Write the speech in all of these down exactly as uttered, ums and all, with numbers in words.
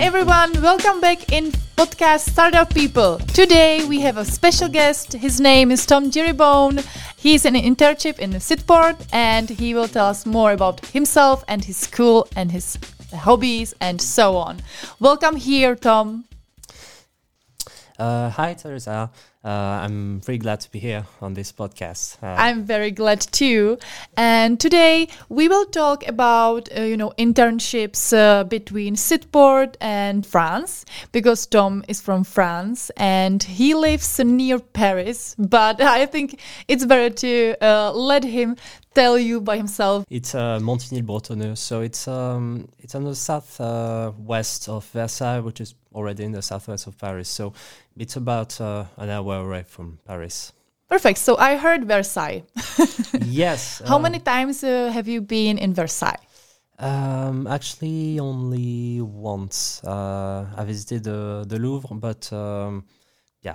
everyone, welcome back in podcast Startup People. Today we have a special guest. His name is Tom Jeribone. He's in an internship in Sitport and he will tell us more about himself and his school and his hobbies and so on. Welcome here, Tom. Uh, hi, Teresa. Uh, I'm very glad to be here on this podcast. Uh, I'm very glad too. And today we will talk about, uh, you know, internships uh, between Sitport and France, because Tom is from France and he lives near Paris. But I think it's better to uh, let him tell you by himself. It's uh, Montigny-le-Bretonneux, so it's um, it's on the south uh, west of Versailles, which is already in the southwest of Paris. So it's about uh, an hour away from Paris. Perfect. So I heard Versailles. Yes. How um, many times uh, have you been in Versailles? Um, actually, only once. Uh, I visited the, the Louvre, but um, yeah.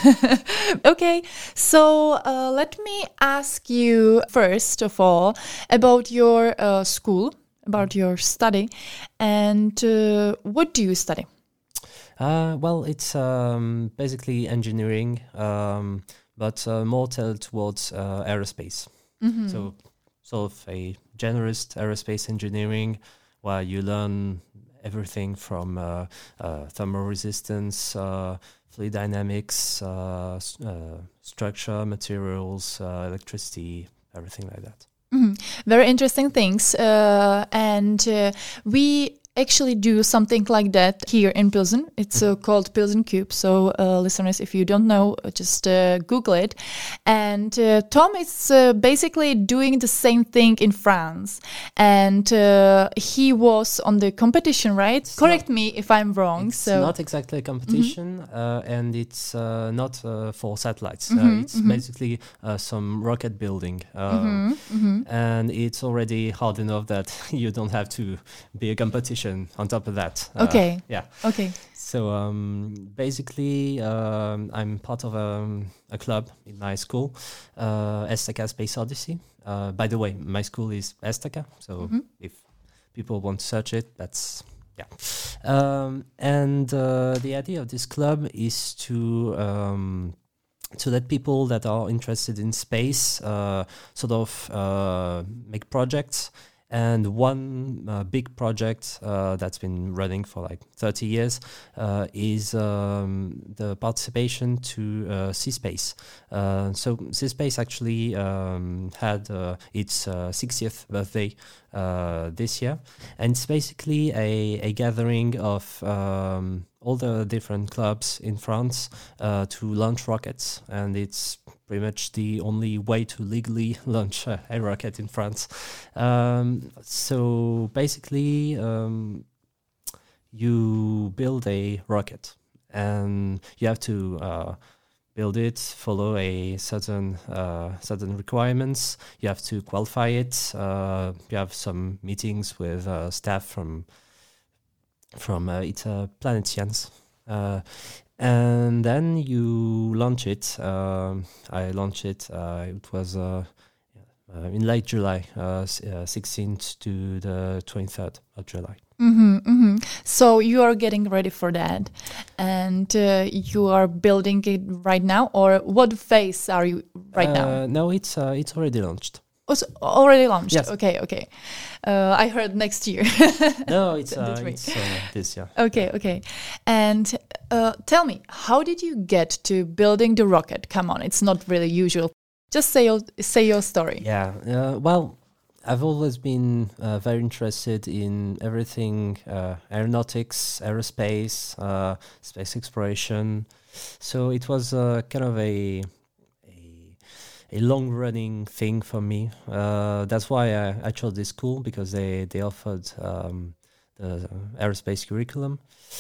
Okay, so uh, let me ask you first of all about your uh, school, about your study, and uh, what do you study? Uh, well, it's um, basically engineering, um, but uh, more tailored towards uh, aerospace. Mm-hmm. So, sort of a generalist aerospace engineering, where you learn everything from uh, uh, thermal resistance, uh, fluid dynamics, uh, s- uh, structure, materials, uh, electricity, everything like that. Mm-hmm. Very interesting things, uh, and uh, we actually do something like that here in Pilsen. It's uh, called Pilsen Cube. So uh, listeners, if you don't know, uh, just uh, Google it. And uh, Tom is uh, basically doing the same thing in France. And uh, he was on the competition, right? It's Correct me if I'm wrong. It's so not exactly a competition, mm-hmm. uh, and it's uh, not uh, for satellites. Mm-hmm, uh, it's mm-hmm. basically uh, some rocket building. Um, Mm-hmm, mm-hmm. And it's already hard enough that you don't have to be a competition on top of that. Uh, Okay. Yeah. Okay. So um, basically, um, I'm part of um, a club in my school, uh, Esteka Space Odyssey. Uh, by the way, my school is Esteka, so Mm-hmm. if people want to search it, that's yeah. Um, and uh, the idea of this club is to um, to let people that are interested in space uh, sort of uh, make projects. And one uh, big project uh, that's been running for like thirty years uh, is um, the participation to uh, C-Space. Uh, so C-Space actually um, had uh, its uh, sixtieth birthday uh, this year. And it's basically a, a gathering of um, all the different clubs in France uh, to launch rockets. And it's pretty much the only way to legally launch a, a rocket in France. Um, so basically, um, you build a rocket and you have to uh, build it, follow a certain uh, certain requirements. You have to qualify it. Uh, you have some meetings with uh, staff from from uh, it's uh, Planet Science. Uh, And then you launch it. Um, I launched it. Uh, it was uh, uh, in late July, uh, s- uh, sixteenth to the twenty-third of July. Mm-hmm, mm-hmm. So you are getting ready for that, and uh, you are building it right now, or what phase are you right now? Uh, no, it's uh, it's already launched. Oh, so already launched. Yes. Okay, okay. Uh, I heard next year. No, it's uh, twenty-three. it's uh, this year. Okay, okay. And uh, tell me, how did you get to building the rocket? Come on, it's not really usual. Just say your say your story. Yeah. Uh, well, I've always been uh, very interested in everything uh, aeronautics, aerospace, uh, space exploration. So it was uh, kind of a a, a long-running thing for me. Uh, that's why I, I chose this school, because they they offered um, the aerospace curriculum,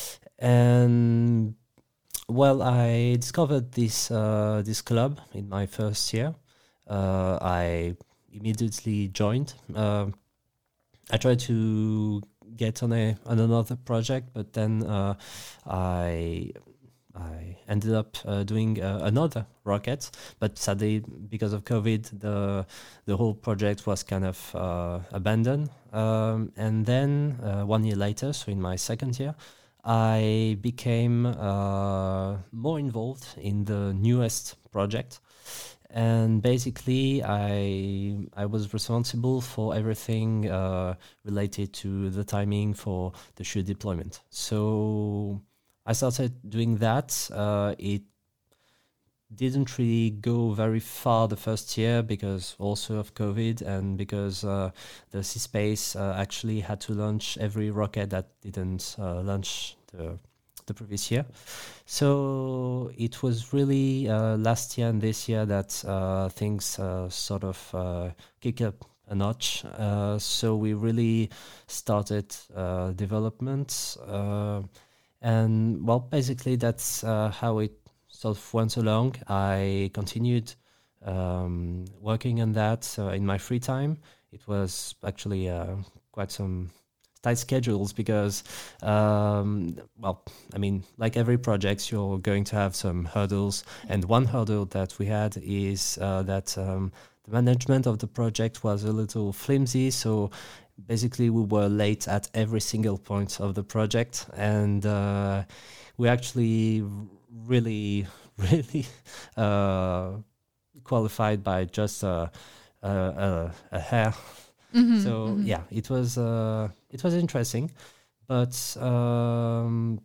and well, I discovered this uh, this club in my first year. Uh, I immediately joined. Uh, I tried to get on a on another project, but then uh, I I ended up uh, doing uh, another rocket. But sadly, because of COVID, the the whole project was kind of uh, abandoned. Um, and then uh, one year later, so in my second year, I became uh, more involved in the newest project. And basically, I I was responsible for everything uh, related to the timing for the shoe deployment. So I started doing that. Uh, it didn't really go very far the first year because also of COVID and because uh, the C-Space uh, actually had to launch every rocket that didn't uh, launch the the previous year. So it was really uh, last year and this year that uh, things uh, sort of uh, kick up a notch. Uh, so we really started uh, development. Uh, and well, basically that's uh, how it sort of went along. I continued um, working on that uh, in my free time. It was actually uh, quite some tight schedules because, um, well, I mean, like every project, you're going to have some hurdles. And one hurdle that we had is uh, that um, the management of the project was a little flimsy. So basically, we were late at every single point of the project. And uh, we actually really, really uh, qualified by just a, a, a, a hair. Mm-hmm, so mm-hmm. yeah, it was uh, it was interesting, but um,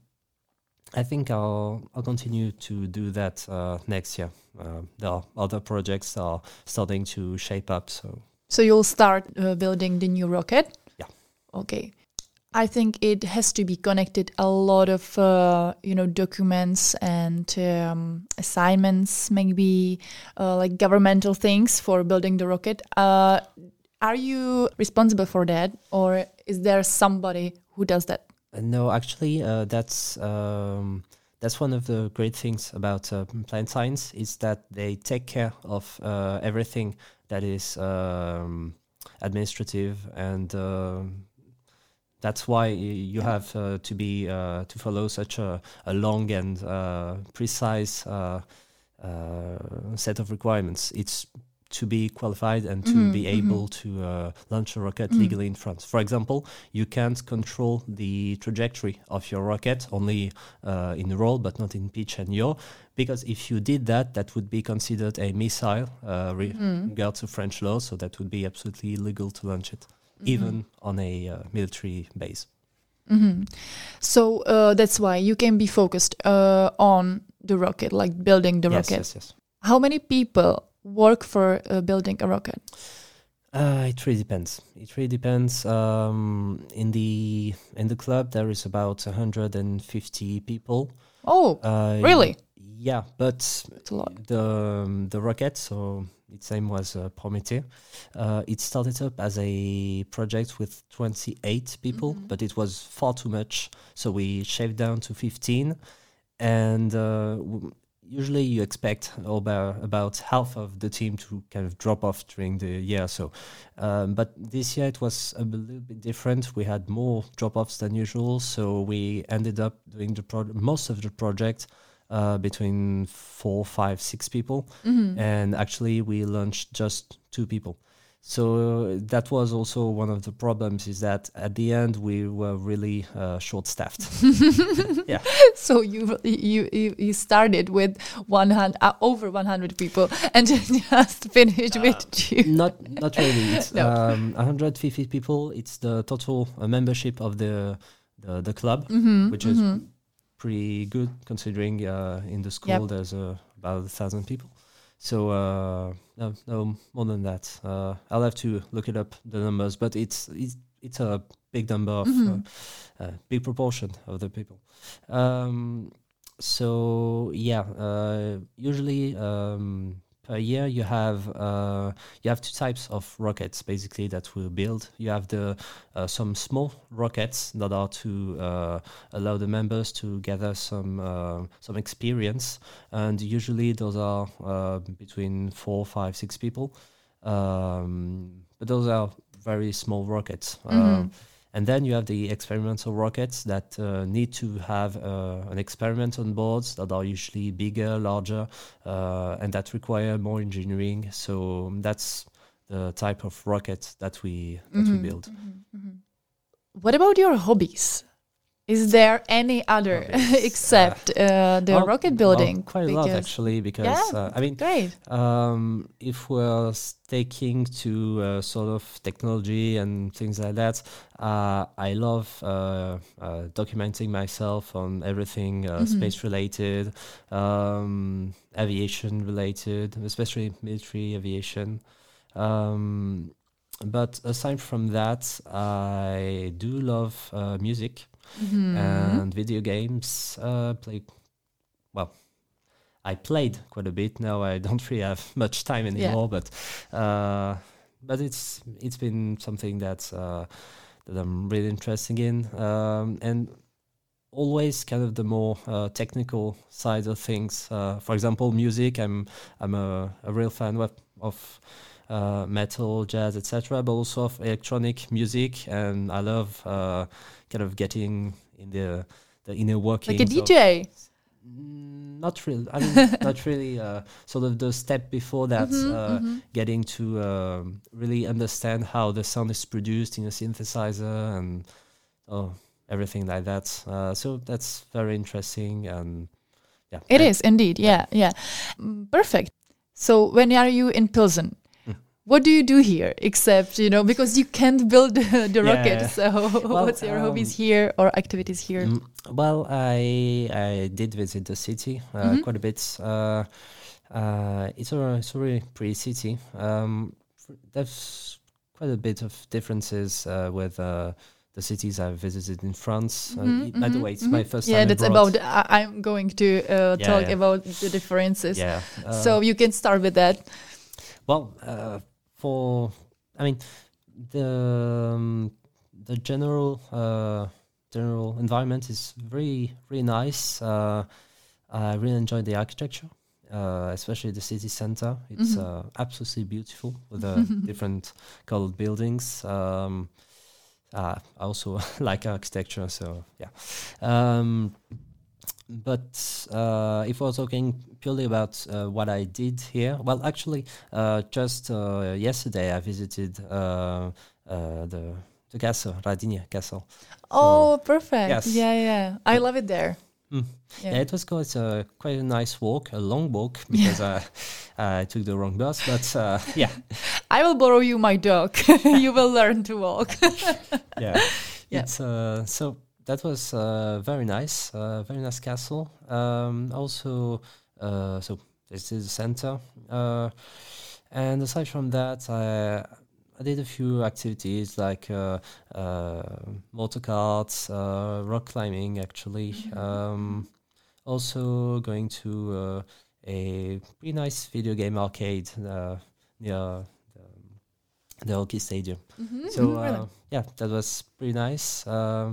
I think I'll I'll continue to do that uh, next year. Uh, there are other projects that are starting to shape up. So so you'll start uh, building the new rocket? Yeah. Okay. I think it has to be connected a lot of uh, you know documents and um, assignments, maybe uh, like governmental things for building the rocket. Uh, Are you responsible for that, or is there somebody who does that? Uh, no, actually, uh, that's um, that's one of the great things about uh, Planet Science is that they take care of uh, everything that is um, administrative, and uh, that's why you have uh, to be uh, to follow such a, a long and uh, precise uh, uh, set of requirements. It's to be qualified and to mm-hmm, be able mm-hmm. to uh, launch a rocket mm. legally in France. For example, you can't control the trajectory of your rocket only uh, in roll, but not in pitch and yaw, because if you did that, that would be considered a missile uh, re- mm. regard to French law, so that would be absolutely illegal to launch it, mm-hmm. even on a uh, military base. Mm-hmm. So uh, that's why you can be focused uh, on the rocket, like building the yes, rocket. Yes, yes, How many people work for uh, building a rocket? Uh, it really depends. It really depends. Um, in the in the club, there is about one hundred fifty people. Oh, uh, really? Yeah, but that's a lot. The um, the rocket, so its name was uh, Prométhée. Uh, it started up as a project with twenty-eight people, mm-hmm. but it was far too much, so we shaved down to fifteen, and. Uh, w- Usually you expect about, about half of the team to kind of drop off during the year. So, um, but this year it was a little bit different. We had more drop-offs than usual. So we ended up doing the pro- most of the project uh, between four, five, six people. Mm-hmm. And actually we launched just two people. So that was also one of the problems, is that at the end we were really uh, short-staffed. Yeah. So you you you started with one hundred uh, over one hundred people and just finished uh, with two. Not not really. It's no. um, one hundred fifty people. It's the total uh, membership of the the, the club, mm-hmm, which mm-hmm. is pretty good considering uh, in the school yep. there's uh, about a thousand people. So uh, no, no more than that. Uh, I'll have to look it up, the numbers, but it's it's, it's a big number of mm-hmm. uh, uh, big proportion of the people. Um, so yeah, uh, usually um, per year you have uh, you have two types of rockets basically that we build. You have the uh, some small rockets that are to uh, allow the members to gather some uh, some experience, and usually those are uh, between four, five, six people. Um, but those are very small rockets. Mm-hmm. Uh, And then you have the experimental rockets that uh, need to have uh, an experiment on boards that are usually bigger, larger, uh, and that require more engineering. So that's the type of rocket that we that mm-hmm. we build. Mm-hmm. Mm-hmm. What about your hobbies? Is there any other Hobbies, except uh, the well, rocket building? Well, quite a lot actually, because Yeah, uh, I mean, great. um, if we're sticking to uh, sort of technology and things like that, uh, I love uh, uh, documenting myself on everything uh, Mhm. space related, um, aviation related, especially military aviation. Um, but aside from that, I do love uh, music Mhm. and video games. Uh, play well. I played quite a bit. Now I don't really have much time anymore, but uh, but it's it's been something that uh, that I'm really interested in, um, and always kind of the more uh, technical side of things. Uh, for example, music. I'm I'm a, a real fan of, of uh, metal, jazz, et cetera, but also of electronic music, and I love uh, kind of getting in the the inner workings. Like a D J. Of, mm, not really. I mean, not really. Uh, sort of the step before that, Mhm, uh, mhm. getting to um, really understand how the sound is produced in a synthesizer and oh, everything like that. Uh, so that's very interesting, and yeah, It and- is indeed. Yeah, yeah. Mm, Perfect. So when are you in Pilsen? Mm. What do you do here except, you know, because you can't build the, the Yeah. rocket. So Well, what's your hobbies um, here or activities here? Mm, well, I I did visit the city uh, Mhm. quite a bit. Uh, uh, it's a it's a really pretty city. Um, f- there's quite a bit of differences uh, with uh, the cities I've visited in France. Uh, Mhm, y- by the mhm, way, it's mhm. my first Yeah, time that's abroad. about. I, I'm going to uh, Yeah, talk yeah. about the differences. Yeah. Uh, So you can start with that. Well, uh, for I mean, the um, the general uh, general environment is very very nice. Uh, I really enjoy the architecture, uh, especially the city center. It's Mhm. uh, absolutely beautiful with the different colored buildings. Um, uh, I also like architecture, so yeah. Um, but uh, if we're talking purely about uh, what I did here, well, actually, uh, just uh, yesterday I visited uh, uh, the the castle, Radinia Castle. Oh, perfect. yes. Yeah, yeah. I But- love it there. Mm. Yeah. Yeah, it was quite a quite a nice walk, a long walk because I I took the wrong bus. But uh, yeah, I will borrow you my dog. You will learn to walk. yeah, Yeah. it's uh, so that was uh, very nice, uh, very nice castle. Um, also, uh, so this is the center, uh, and aside from that, I I did a few activities like uh, uh, motor carts, uh, rock climbing, actually. Um, also going to uh, a pretty nice video game arcade uh, near the, the hockey stadium. Mhm, So mhm, really. uh, yeah, that was pretty nice. Um,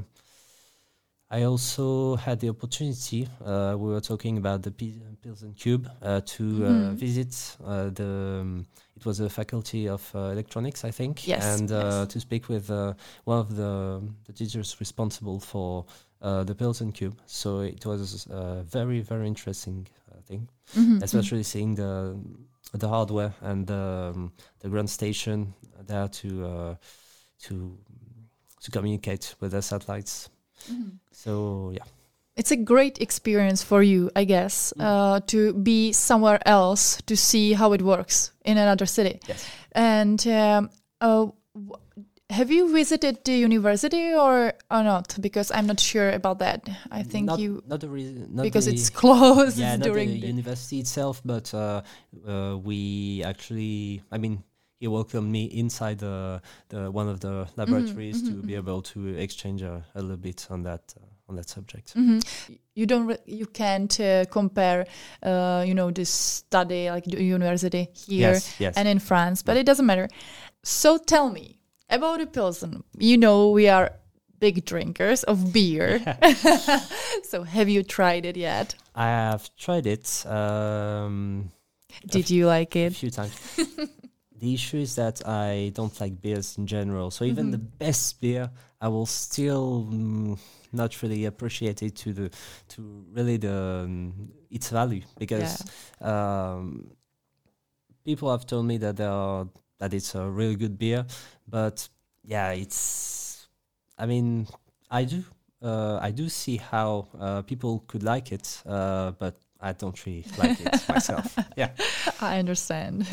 I also had the opportunity. Uh, we were talking about the P- Pilsen Cube uh, to uh, Mhm. visit uh, the. Um, it was a faculty of uh, electronics, I think, Yes, and uh, yes. to speak with uh, one of the the teachers responsible for uh, the Pilsen Cube. So it was a very very interesting uh, thing, Mhm, especially seeing the the hardware and the um, the ground station there to uh, to to communicate with the satellites. mhm. So yeah, It's a great experience for you, I guess, Mm. uh, to be somewhere else to see how it works in another city. yes, And um, uh, w- have you visited the university or or not? Because I'm not sure about that. I think not, you not the reason not because the, it's closed yeah, not during the the. university itself, but uh, uh, we actually, I mean, he welcomed me inside the the one of the laboratories mhm, to be mhm. able to exchange a, a little bit on that uh, on that subject. Mhm. You don't. Re- you can't uh, compare. Uh, you know, this study like the university here Yes, yes. and in France, but it doesn't matter. So tell me about the Pilsen. You know, we are big drinkers of beer. So have you tried it yet? I have tried it um, Did you like a it? few times. The issue is that I don't like beers in general. So even Mhm. the best beer, I will still mm, not really appreciate it to the to really the um, its value because um, people have told me that they are that it's a really good beer, but yeah, it's. I mean, I do uh, I do see how uh, people could like it, uh, but I don't really like it myself. Yeah, I understand.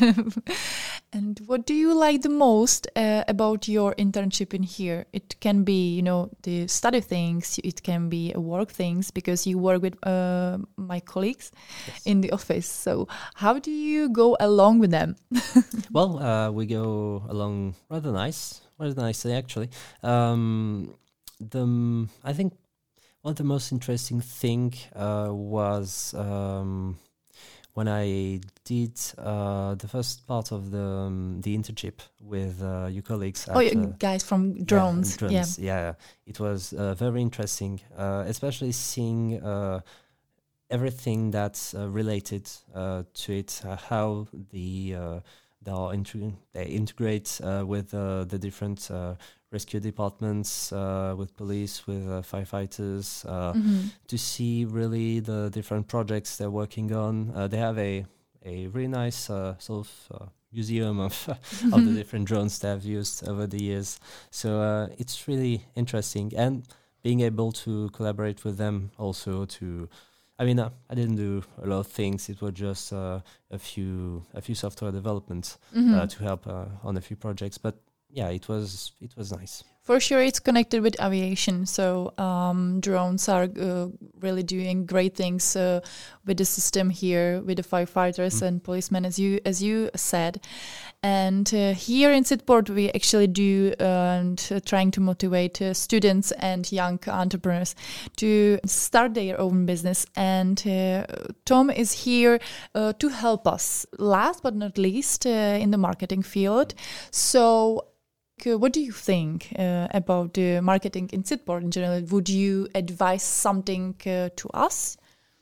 And what do you like the most uh, about your internship in here? It can be, you know, the study things. It can be uh, work things because you work with uh, my colleagues yes. in the office. So how do you go along with them? Well, uh, we go along rather nice, rather nicely actually. Um, the I think one of the most interesting thing uh, was um, when I did uh, the first part of the um, the internship with uh, your colleagues. Oh, at, you uh, guys from drones. Yeah, Yeah. drones. Yeah, it was uh, very interesting, uh, especially seeing uh, everything that's uh, related uh, to it, uh, how the uh, they, are integ- they integrate uh, with uh, the different uh, rescue departments, uh, with police, with uh, firefighters, uh, Mhm. to see really the different projects they're working on. Uh, they have a a really nice uh, sort of uh, museum of of the different drones they have used over the years. So uh, it's really interesting, and being able to collaborate with them also to. I mean, uh, I didn't do a lot of things. It was just uh, a few a few software developments Mhm. uh, to help uh, on a few projects. But yeah, it was it was nice. For sure, it's connected with aviation. So um, drones are uh, really doing great things uh, with the system here, with the firefighters Mm. and policemen, as you as you said. And uh, here in Sitport, we actually do uh, and uh, trying to motivate uh, students and young entrepreneurs to start their own business. And uh, Tom is here uh, to help us. Last but not least, uh, in the marketing field. So. Uh, What do you think uh, about the marketing in Sitport in general? Would you advise something uh, to us?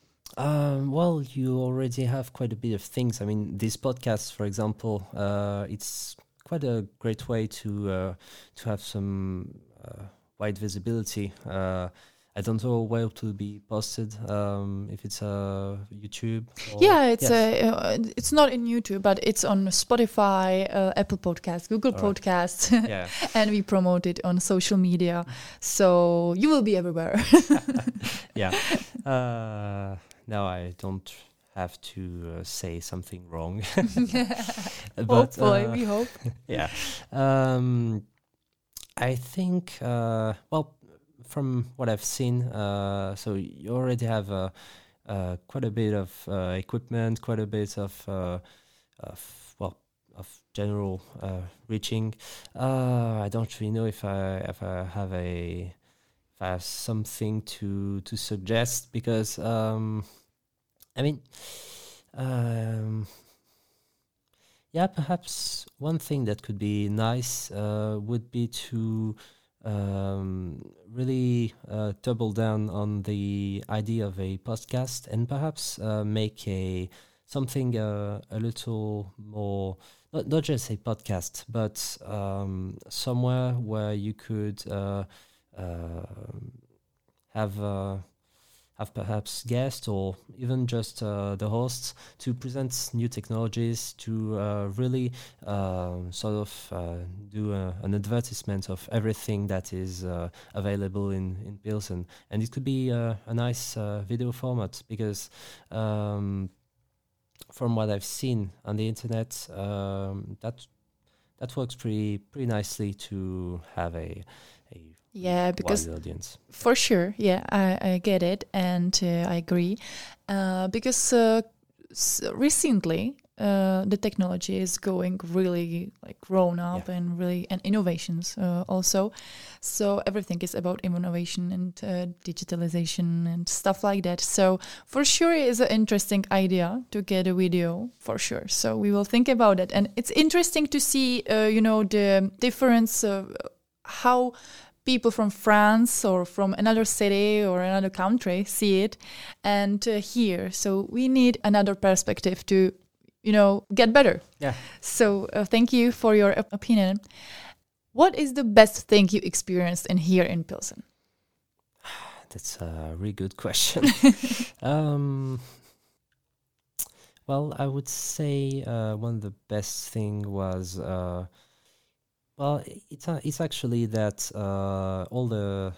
Um, well, you already have quite a bit of things. I mean, this podcast, for example, uh, it's quite a great way to uh, to have some uh, wide visibility. Uh, I don't know where to be posted. Um, if it's uh, YouTube. Or Yeah, it's yes. uh, uh, it's not in YouTube, but it's on Spotify, uh, Apple Podcasts, Google All right. Podcasts, Yeah. and we promote it on social media. So you will be everywhere. Yeah. Uh, now I don't have to uh, say something wrong. But Hopefully, uh, we hope. yeah. Um, I think, uh, well, from what I've seen, uh, so you already have uh, uh, quite a bit of uh, equipment, quite a bit of, uh, of well, of general uh, reaching. Uh, I don't really know if I if I have a if I have something to to suggest because um, I mean. Um, Yeah, perhaps one thing that could be nice uh, would be to um, really uh, double down on the idea of a podcast and perhaps uh, make a something uh, a little more not, not just a podcast, but um, somewhere where you could uh, uh, have. Uh, have perhaps guests or even just uh, the hosts to present new technologies, to uh, really uh, sort of uh, do a, an advertisement of everything that is uh, available in, in Pilsen. And it could be uh, a nice uh, video format because um, from what I've seen on the internet, um, that that works pretty pretty nicely to have a a Yeah, because wide audience. for sure, yeah, I, I get it, and uh, I agree. Uh, because uh, s- recently, uh, the technology is going really like grown up Yeah. and really and innovations uh, also. So everything is about innovation and uh, digitalization and stuff like that. So for sure, it is an interesting idea to get a video for sure. So we will think about it, and it's interesting to see, uh, you know, the difference of how people from France or from another city or another country see it and uh, hear. So we need another perspective to, you know, get better. Yeah. So uh, thank you for your op- opinion. What is the best thing you experienced in here in Pilsen? That's a really good question. um, well, I would say uh, one of the best thing was uh, well, it's uh, it's actually that uh, all the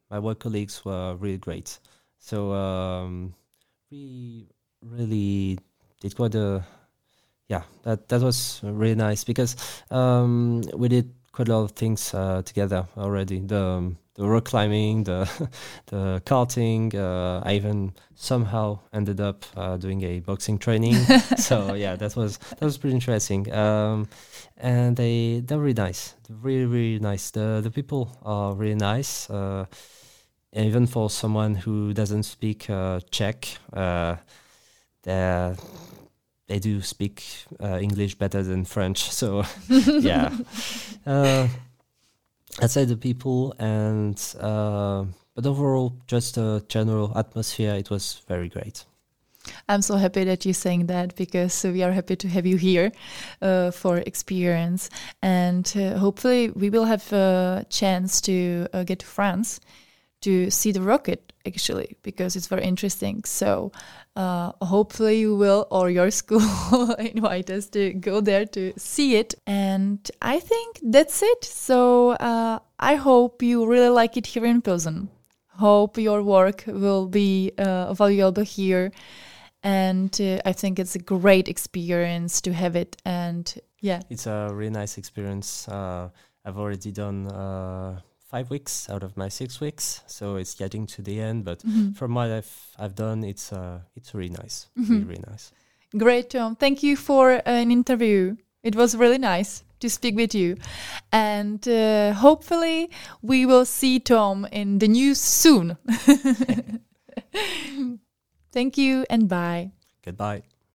my work colleagues were really great. So um, we really did quite a yeah that that was really nice because um, we did quite a lot of things uh, together already. The um, the rock climbing, the the karting. Uh, I even somehow ended up uh, doing a boxing training. So yeah, that was that was pretty interesting. Um, and they they're really nice, really really nice. The the people are really nice. Uh, even for someone who doesn't speak uh, Czech, uh, they they do speak uh, English better than French. So yeah. Uh, I'd say the people and uh, but overall just a general atmosphere, it was very great. I'm so happy that you're saying that because we are happy to have you here uh, for experience, and uh, hopefully we will have a chance to uh, get to France to see the rocket actually, because it's very interesting. So uh, hopefully you will, or your school invite us to go there to see it. And I think that's it. So uh, I hope you really like it here in Pilsen. Hope your work will be uh, valuable here. And uh, I think it's a great experience to have it. And yeah. It's a really nice experience. Uh, I've already done... Uh five weeks out of my six weeks, so it's getting to the end. But mm-hmm. from what I've I've done, it's uh it's really nice, mm-hmm. really really nice. Great, Tom. Thank you for an interview. It was really nice to speak with you, and uh, hopefully we will see Tom in the news soon. Thank you and bye. Goodbye.